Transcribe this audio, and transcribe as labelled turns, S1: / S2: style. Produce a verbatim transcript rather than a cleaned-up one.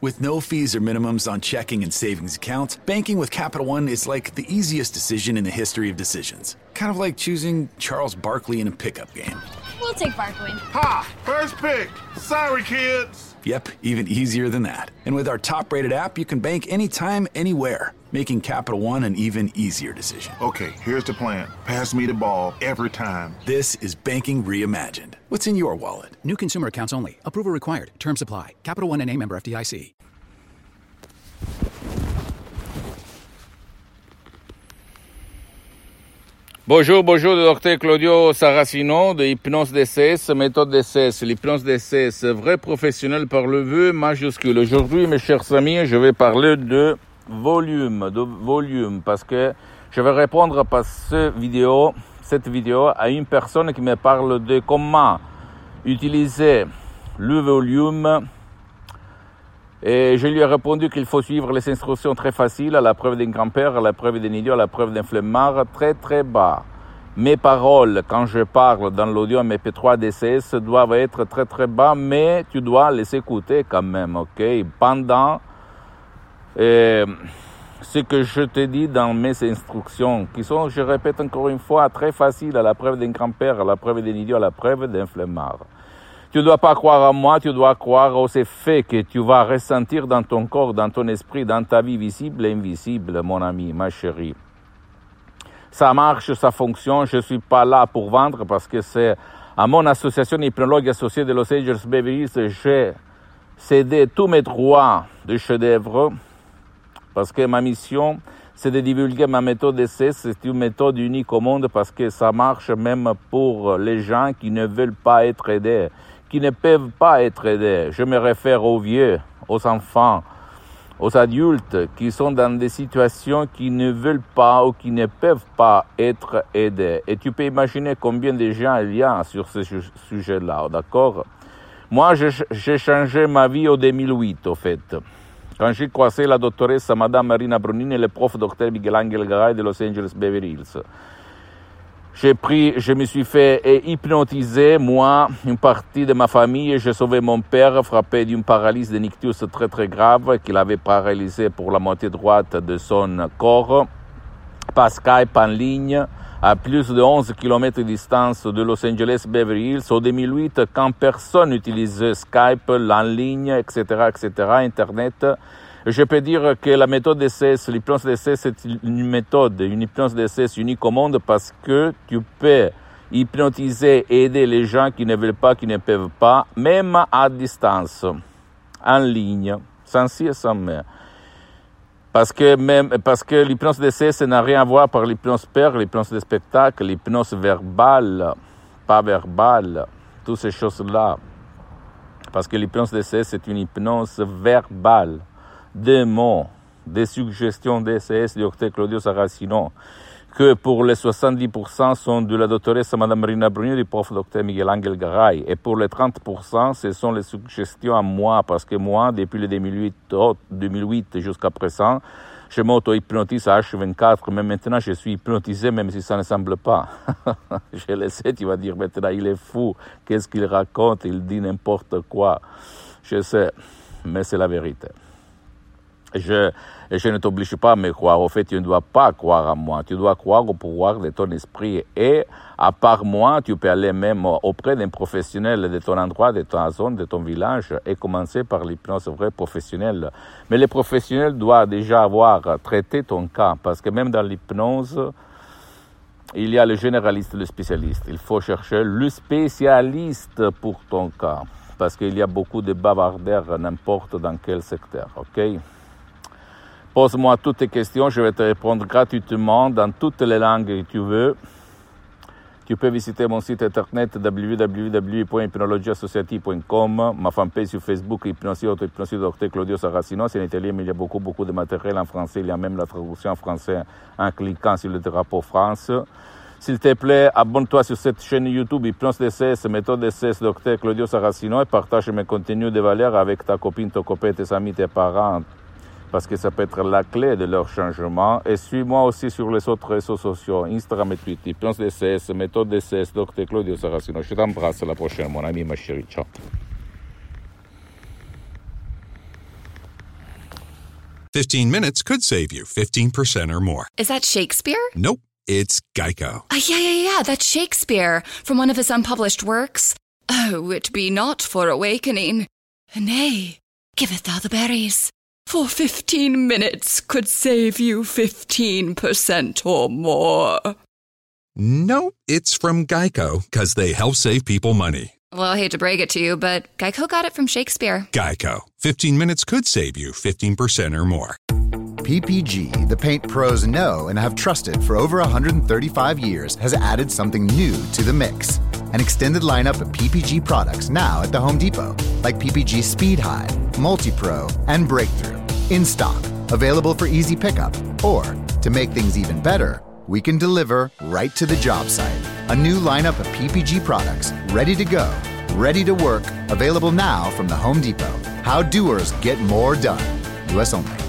S1: With no fees or minimums on checking and savings accounts, banking with Capital One is like the easiest decision in the history of decisions. Kind of like choosing Charles Barkley in a pickup game.
S2: We'll take Barkley.
S3: Ha! First pick. Sorry, kids.
S1: Yep, even easier than that. And with our top-rated app, you can bank anytime, anywhere, making Capital One an even easier decision.
S3: Okay, here's the plan. Pass me the ball every time.
S1: This is banking reimagined. What's in your wallet?
S4: New consumer accounts only. Approval required. Terms apply. Capital One N A member F D I C.
S5: Bonjour, bonjour, le docteur Claudio Saracino de Hypnose D C S, méthode D C S, l'hypnose D C S, vrai professionnel par le vœu majuscule. Aujourd'hui, mes chers amis, je vais parler de volume, de volume, parce que je vais répondre par ce vidéo, cette vidéo à une personne qui me parle de comment utiliser le volume. Et je lui ai répondu qu'il faut suivre les instructions très faciles, à la preuve d'un grand-père, à la preuve d'un idiot, à la preuve d'un flemmard, très très bas. Mes paroles, quand je parle dans l'audio M P trois D C S, doivent être très très bas, mais tu dois les écouter quand même, ok? Pendant euh, ce que je te dis dans mes instructions, qui sont, je répète encore une fois, très faciles, à la preuve d'un grand-père, à la preuve d'un idiot, à la preuve d'un flemmard. Tu ne dois pas croire à moi, tu dois croire aux effets que tu vas ressentir dans ton corps, dans ton esprit, dans ta vie visible et invisible, mon ami, ma chérie. Ça marche, ça fonctionne, je ne suis pas là pour vendre parce que c'est à mon association hypnologue associée de Los Angeles Beverly Hills, j'ai cédé tous mes droits de chef-d'œuvre parce que ma mission, c'est de divulguer ma méthode D C S. C'est une méthode unique au monde parce que ça marche même pour les gens qui ne veulent pas être aidés, qui ne peuvent pas être aidés. Je me réfère aux vieux, aux enfants, aux adultes qui sont dans des situations qui ne veulent pas ou qui ne peuvent pas être aidés. Et tu peux imaginer combien de gens il y a sur ce sujet-là, d'accord? Moi, j'ai changé ma vie en deux mille huit, au fait. Quand j'ai croisé la doctoresse Madame Marina Brunini et le prof docteur Miguel Angel Garay de Los Angeles Beverly Hills. J'ai pris, je me suis fait hypnotiser, moi, une partie de ma famille. J'ai sauvé mon père, frappé d'une paralysie de nictus très très grave, qu'il avait paralysé pour la moitié droite de son corps, par Skype en ligne, à plus de onze kilomètres de distance de Los Angeles Beverly Hills, en deux mille huit, quand personne n'utilisait Skype, en ligne, et cetera, et cetera, Internet. Je peux dire que la méthode D C S, l'hypnose D C S, c'est une méthode, une hypnose D C S unique au monde parce que tu peux hypnotiser et aider les gens qui ne veulent pas, qui ne peuvent pas, même à distance, en ligne, sans ci et sans mais. Parce que même, parce que l'hypnose D C S n'a rien à voir par l'hypnose père, l'hypnose de spectacle, l'hypnose verbale, pas verbale, toutes ces choses-là. Parce que l'hypnose D C S, c'est une hypnose verbale. Des mots, des suggestions D C S du docteur Claudio Saracino, que pour les soixante-dix pour cent sont de la doctoresse Madame Marina Brunini et du prof docteur Miguel Angel Garay. Et pour les trente pour cent, ce sont les suggestions à moi, parce que moi, depuis le deux mille huit, oh, deux mille huit jusqu'à présent, je m'auto-hypnotise à H vingt-quatre, mais maintenant je suis hypnotisé, même si ça ne semble pas. Je le sais, tu vas dire maintenant, il est fou, qu'est-ce qu'il raconte, il dit n'importe quoi. Je sais, mais c'est la vérité. Je, je ne t'oblige pas à me croire. Au fait, tu ne dois pas croire à moi. Tu dois croire au pouvoir de ton esprit. Et à part moi, tu peux aller même auprès d'un professionnel de ton endroit, de ta zone, de ton village, et commencer par l'hypnose vraie professionnelle. Mais le professionnel doit déjà avoir traité ton cas, parce que même dans l'hypnose, il y a le généraliste et le spécialiste. Il faut chercher le spécialiste pour ton cas, parce qu'il y a beaucoup de bavardeurs n'importe dans quel secteur, ok? Pose-moi toutes tes questions, je vais te répondre gratuitement dans toutes les langues que tu veux. Tu peux visiter mon site internet w w w point hypnologie associative point com, ma fanpage sur Facebook, Hypnosie, auto-hypnosie, docteur Claudio Saracino. C'est en italien, mais il y a beaucoup, beaucoup de matériel en français. Il y a même la traduction en français en cliquant sur le drapeau France. S'il te plaît, abonne-toi sur cette chaîne YouTube Hypnose D C S, méthode D C S, docteur Claudio Saracino, et partage mes contenus de valeur avec ta copine, ton copain, tes amis, tes parents, parce que ça peut être la clé de leur changement. Et suis-moi aussi sur les autres réseaux sociaux, Instagram et Twitter, Hypnose D C S, méthode D C S, docteur Claudio Saracino. Je t'embrasse, à la prochaine, mon ami, ma chérie. Ciao.
S2: fifteen minutes could save you fifteen percent or more.
S6: Is that Shakespeare?
S2: Nope, it's Geico.
S6: Uh, yeah, yeah, yeah, that's Shakespeare from one of his unpublished works. Oh, it be not for awakening. Nay, giveth thou the berries. For fifteen minutes could save you fifteen percent or more.
S2: Nope, it's from Geico, because they help save people money.
S6: Well, I hate to break it to you, but Geico got it from Shakespeare.
S2: Geico. fifteen minutes could save you fifteen percent or more.
S7: P P G, the paint pros know and have trusted for over one hundred thirty-five years, has added something new to the mix. An extended lineup of P P G products now at the Home Depot, like P P G Speed Hide, Multi-Pro, and Breakthrough. In stock, available for easy pickup. Or, to make things even better, we can deliver right to the job site. A new lineup of P P G products, ready to go, ready to work, available now from the Home Depot. How doers get more done. U S only.